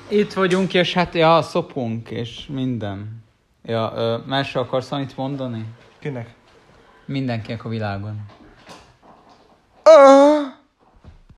Itt vagyunk, és hát szopunk, és minden. Másra akarsz valamit mondani? Kinek? Mindenkinek a világon.